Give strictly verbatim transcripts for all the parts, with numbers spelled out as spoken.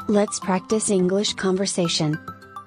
Let's practice English conversation.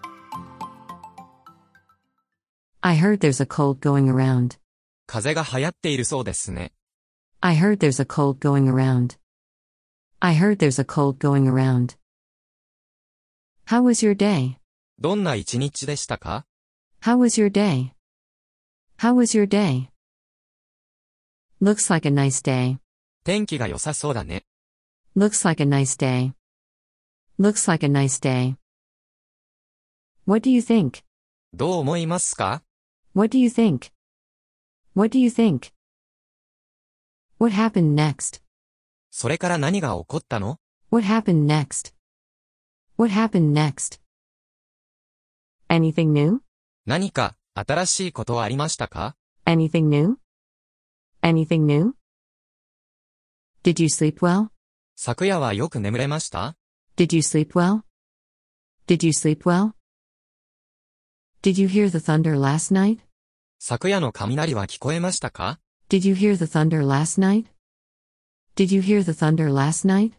I heard there's a cold going around. 風邪が流行っているそうですね。 I heard there's a cold going around. I heard there's a cold going around. How was your day? どんな一日でしたか？ How was your day? How was your day? Looks like a nice day. 天気が良さそうだね。 Looks like a nice day. Looks like a nice day. What do you think? どう思いますか？ What do you think? What do you think? What happened next? それから何が起こったの？ What happened next? What happened next? Anything new? 何か新しいことはありましたか？ Anything new? Anything new? Did you sleep well? 昨夜はよく眠れました？ Did you sleep well? Did you sleep well? Did you hear the thunder last night? 昨夜の雷は聞こえましたか？ Did you hear the thunder last night? Did you hear the thunder last night?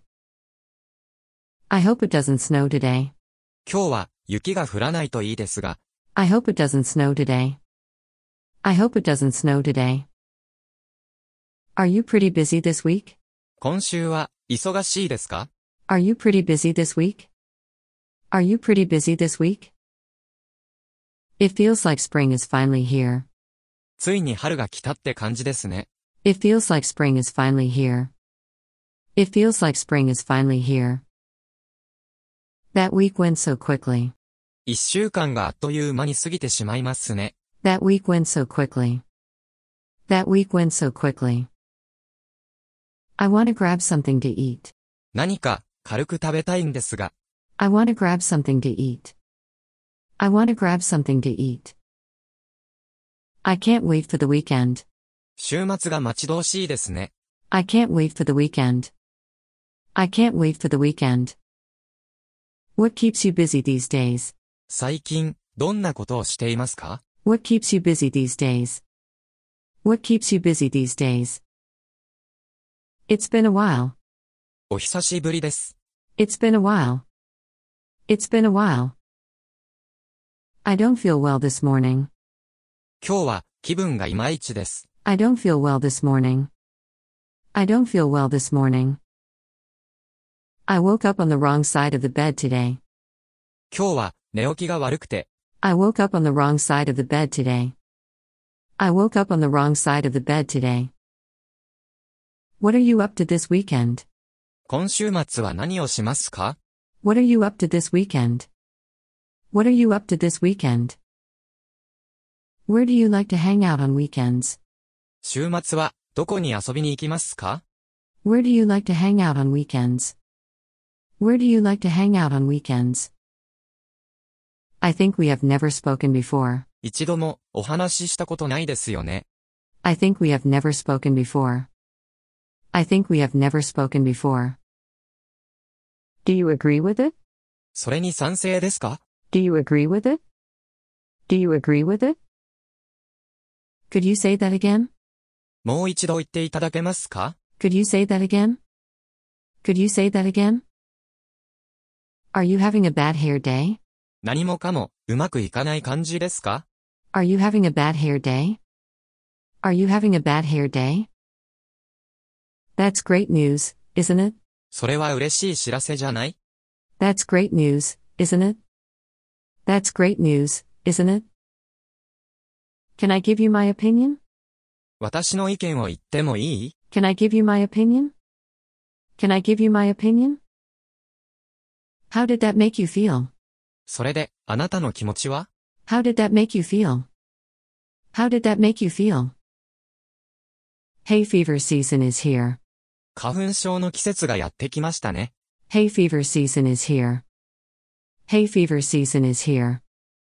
I hope it doesn't snow today. 今日は雪が降らないといいですが。 I hope it doesn't snow today. I hope it doesn't snow today. Are you pretty busy this week? 今週は忙しいですか？ Are you pretty busy this week? Are you pretty busy this week? It feels like spring is finally here. ついに春が来たって感じですね。 It feels like spring is finally here. It feels like spring is finally here. That week went so quickly. 一週間があっという間に過ぎてしまいますね。 That week went so quickly. That week went so quickly. I want to grab something to eat. 何か軽く食べたいんですが。 I want to grab something to eat. I want to grab something to eat. I can't wait for the weekend. 週末が待ち遠しいですね。 I can't wait for the weekend. I can't wait for the weekend. What keeps you busy these days? 最近、どんなことをしていますか？ What keeps you busy these days? What keeps you busy these days? It's been a while. お久しぶりです。 It's been a while. It's been a while. I don't feel well this morning. 今日は気分がいまいちです。 I don't feel well this morning. I don't feel well this morning. I woke up on the wrong side of the bed today. 今日は寝起きが悪くて。 I woke up on the wrong side of the bed today. I woke up on the wrong side of the bed today. What are you up to this weekend? 今週末は何をしますか？ What are you up to this weekend? What are you up to this weekend? Where do you like to hang out on weekends? 週末はどこに遊びに行きますか？ Where do you like to hang out on weekends? Where do you like to hang out on weekends? I think we have never spoken before. 一度もお話ししたことないですよね。 I think we have never spoken before. I think we have never spoken before. Do you agree with it? それに賛成ですか？ Do you agree with it? Do you agree with it? Could you say that again? もう一度言っていただけますか？ Could you say that again? Could you say that again? Are you having a bad hair day? 何もかもうまくいかない感じですか？ Are you having a bad hair day? Are you having a bad hair day? That's great news, isn't it? それは嬉しい知らせじゃない？ That's great news, isn't it? That's great news, isn't it? Can I give you my opinion? 私の意見を言ってもいい？ Can I give you my opinion? Can I give you my opinion? How did that make you feel? それで、あなたの気持ちは？ How did that make you feel? How did that make you feel? Hay fever season is here. 花粉症の季節がやってきましたね。 Hay fever season is here. Hay fever season is here.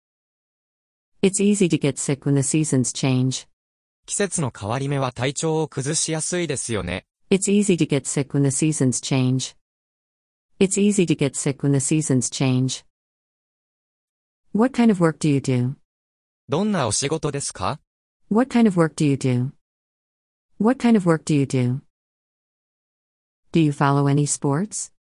It's easy to get sick when the seasons change. 季節の変わり目は体調を崩しやすいですよね。 It's easy to get sick when the seasons change. It's easy to get sick when the seasons change. What kind of work do you do? どんなお仕事ですか？ What kind of work do you do? What kind of work do you do? Do you follow any sports?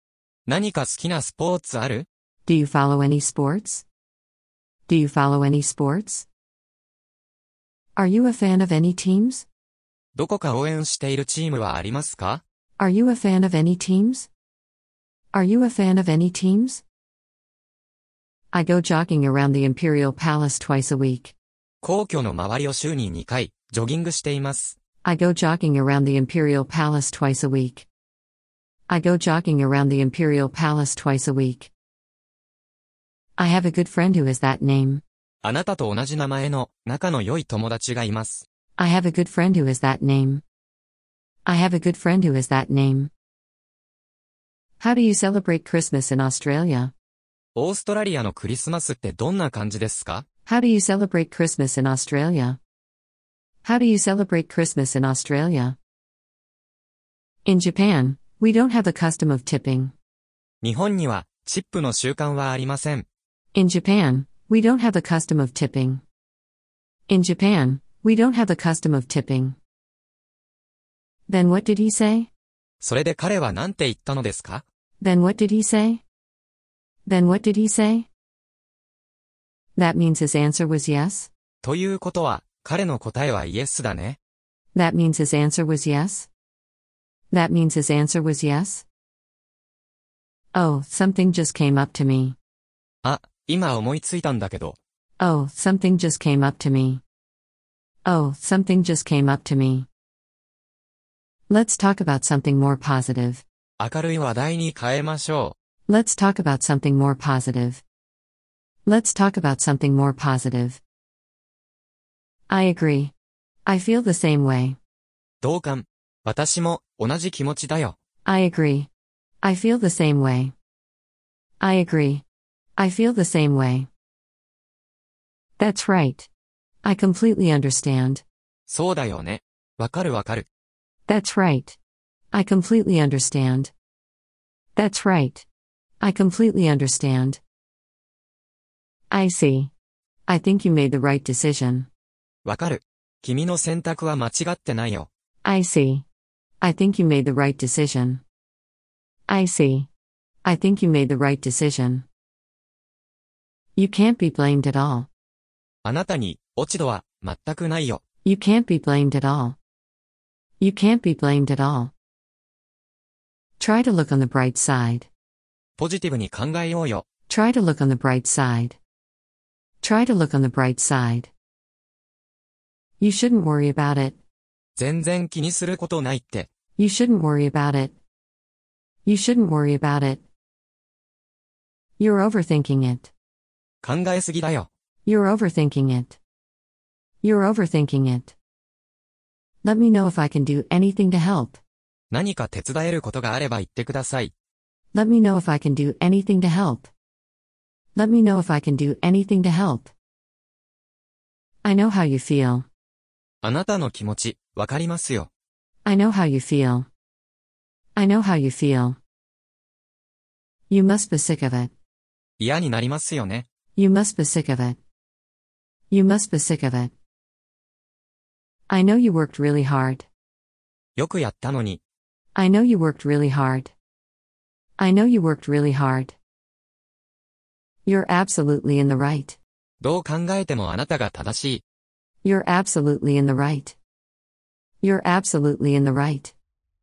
何か好きなスポーツある？ Do you follow any sports? Do you follow any sports? Are you a fan of any teams? どこか応援しているチームはありますか？ Are you a fan of any teams? Are you a fan of any teams? I go jogging around the Imperial Palace twice a week. 皇居の周りを週ににかい、ジョギングしています。 I go jogging around the Imperial Palace twice a week. I go jogging around the Imperial Palace twice a week. I have a good friend who is that name. あなたと同じ名前の仲の良い友達がいます。 I have a good friend who is that name. I have a good friend who is that name. How do you celebrate Christmas in Australia? オーストラリアのクリスマスってどんな感じですか？ How do you celebrate Christmas in Australia? How do you celebrate Christmas in Australia? In Japan, we don't have the custom of tipping. 日本にはチップの習慣はありません。 In Japan, we don't have the custom of tipping. In Japan, we don't have the custom of tipping. Then what did he say? それで彼は何て言ったのですか？ Then what did he say? Then what did he say? That means his answer was yes? ということは、彼の答えはイエスだね。 That means his answer was yes? That means his answer was yes? Oh, something just came up to me. あ、今思いついたんだけど。 Oh, something just came up to me. Oh, something just came up to me. Let's talk about something more positive. 明るい話題に変えましょ Let's talk about something more positive. Let's talk about something more positive. I agree. I feel the same way. う。同感。私も同じ気持ちだよ。 I agree. I feel the same way. I agree. I feel the same way. That's right. I completely understand. そうだよね。わかるわかる。 That's right. I completely understand. That's right. I completely understand. I see. I think you made the right decision. わかる。君の選択は間違ってないよ。 I see. I think you made the right decision. I see. I think you made the right decision. You can't be blamed at all. あなたに落ち度は全くないよ。 You can't be blamed at all. You can't be blamed at all. Try to look on the bright side. ポジティブに考えようよ。 Try to look on the bright side. Try to look on the bright side. You shouldn't worry about it. 全然気にすることないって。 You shouldn't worry about it. You shouldn't worry about it. You're overthinking it. 考えすぎだよ。 You're overthinking it. You're overthinking it. Let me know if I can do anything to help. 何か手伝えることがあれば言ってください。 Let me know if I can do anything to help. Let me know if I can do anything to help. I know how you feel. あなたの気持ち、わかりますよ。 I know how you feel. I know how you feel. You must be sick of it. 嫌になりますよね。 You must be sick of it. You must be sick of it. I know you worked really hard. よくやったのに。 I know you worked really hard. I know you worked really hard. You're absolutely in the right. どう考えてもあなたが正しい。 You're absolutely in the right. You're absolutely in the right.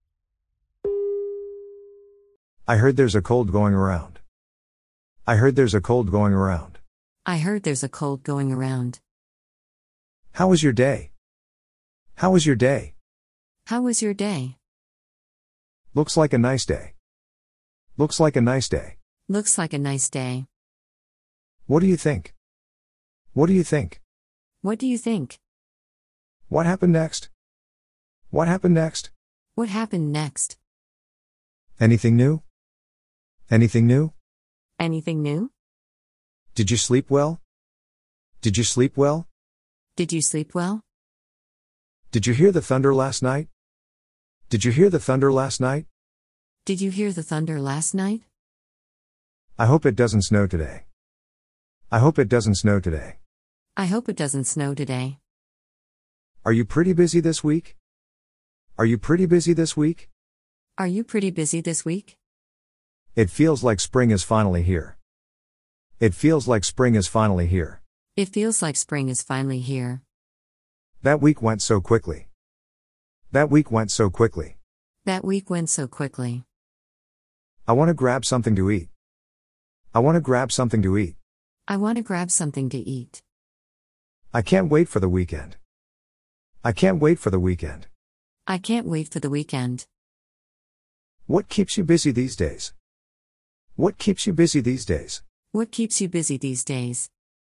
I heard there's a cold going around. I heard there's a cold going around. I heard there's a cold going around. How was your day? How was your day? How was your day? Looks like a nice day. Looks like a nice day. Looks like a nice day. What do you think? What do you think? What do you think? What happened next? What happened next? What happened next? Anything new? Anything new? Anything new? Did you sleep well? Did you sleep well? Did you sleep well? Did you hear the thunder last night? Did you hear the thunder last night? Did you hear the thunder last night? I hope it doesn't snow today. I hope it doesn't snow today. I hope it doesn't snow today. Are you pretty busy this week? Are you pretty busy this week? Are you pretty busy this week? It feels like spring is finally here. It feels like spring is finally here. It feels like spring is finally here. That week went so quickly. That week went so quickly. That week went so quickly. I want to grab something to eat. I want to grab something to eat. I want to grab something to eat. I can't wait for the weekend. I can't wait for the weekend. I can't wait for the weekend. What keeps you busy these days? What keeps you busy these days? What keeps you busy these days?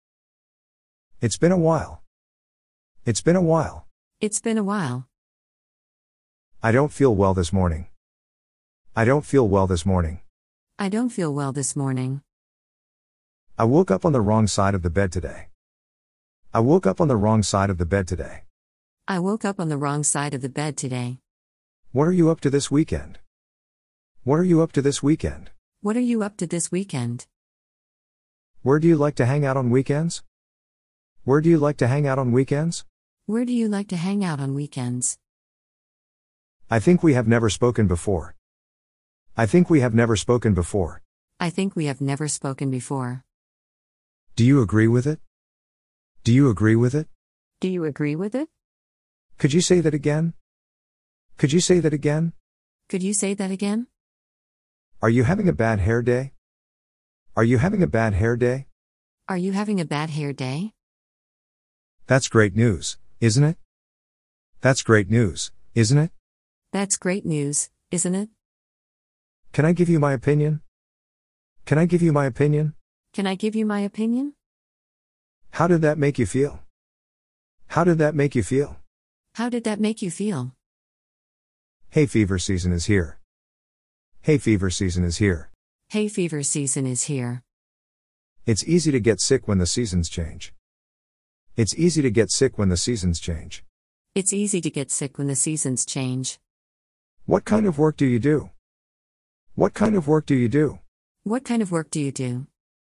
It's been a while. It's been a while. It's been a while. I don't feel well this morning. I don't feel well this morning. I don't feel well this morning. I woke up on the wrong side of the bed today. I woke up on the wrong side of the bed today. I woke up on the wrong side of the bed today. What are you up to this weekend? What are you up to this weekend? What are you up to this weekend? Where do you like to hang out on weekends? Where do you like to hang out on weekends? Where do you like to hang out on weekends? I think we have never spoken before. I think we have never spoken before. I think we have never spoken before. Do you agree with it? Do you agree with it? Do you agree with it? Could you say that again? Could you say that again? Could you say that again? Are you having a bad hair day? Are you having a bad hair day? Are you having a bad hair day? That's great news, isn't it? That's great news, isn't it? That's great news, isn't it? Can I give you my opinion? Can I give you my opinion? Can I give you my opinion? How did that make you feel? How did that make you feel? How did that make you feel? Hay fever season is here. Hay fever season is here. Hay fever season is here. It's easy to get sick when the seasons change. It's easy to get sick when the seasons change. It's easy to get sick when the seasons change. What kind of work do you do? What kind of work do you do? What kind of work do you do?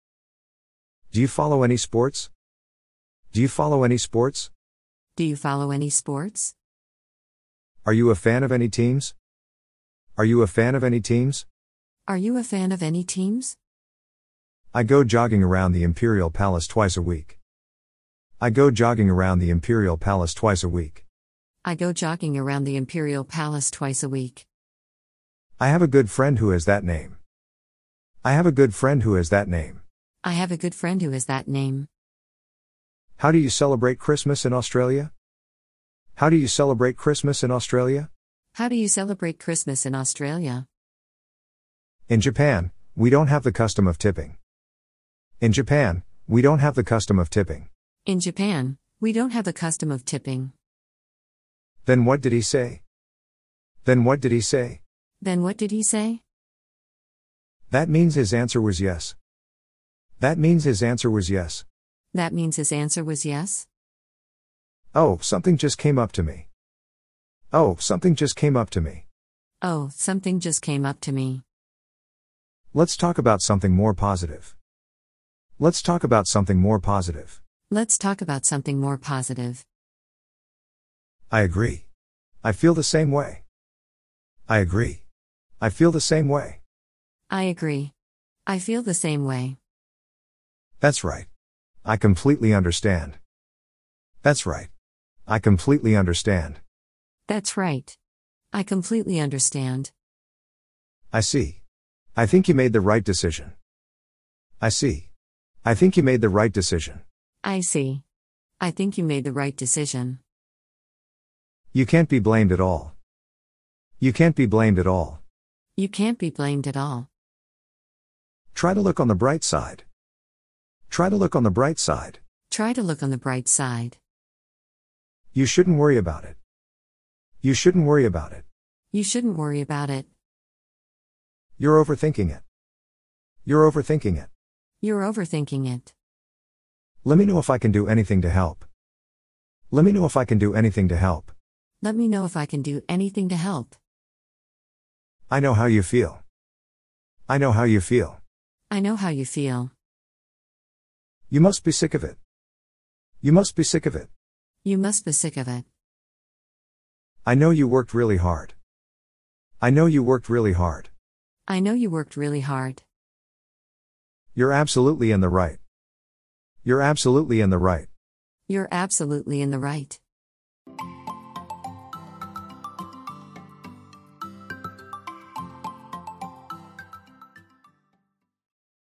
Do you follow any sports? Do you follow any sports? Do you follow any sports? Are you a fan of any teams? Are you a fan of any teams? Are you a fan of any teams? I go jogging around the Imperial Palace twice a week. I go jogging around the Imperial Palace twice a week. I go jogging around the Imperial Palace twice a week. I have a good friend who has that name. I have a good friend who has that name. I have a good friend who has that name. How do you celebrate Christmas in Australia? How do you celebrate Christmas in Australia? How do you celebrate Christmas in Australia? In Japan, we don't have the custom of tipping. In Japan, we don't have the custom of tipping. In Japan, we don't have the custom of tipping. Then what did he say? Then what did he say? Then what did he say? That means his answer was yes. That means his answer was yes. That means his answer was yes? Oh, something just came up to me. Oh, something just came up to me. Oh, something just came up to me. Let's talk about something more positive. Let's talk about something more positive. Let's talk about something more positive. I agree. I feel the same way. I agree. I feel the same way. I agree. I feel the same way. That's right. I completely understand. That's right. I completely understand. That's right. I completely understand. I see. I think you made the right decision. I see. I think you made the right decision. I see. I think you made the right decision. You can't be blamed at all. You can't be blamed at all. You can't be blamed at all. Try to look on the bright side. Try to look on the bright side. Try to look on the bright side. You shouldn't worry about it. You shouldn't worry about it. You shouldn't worry about it. You're overthinking it. You're overthinking it. You're overthinking it. Let me know if I can do anything to help. Let me know if I can do anything to help. Let me know if I can do anything to help. I know how you feel. I know how you feel. I know how you feel. You must be sick of it. You must be sick of it. You must be sick of it. I know you worked really hard. I know you worked really hard. I know you worked really hard. You're absolutely in the right. You're absolutely in the right. You're absolutely in the right.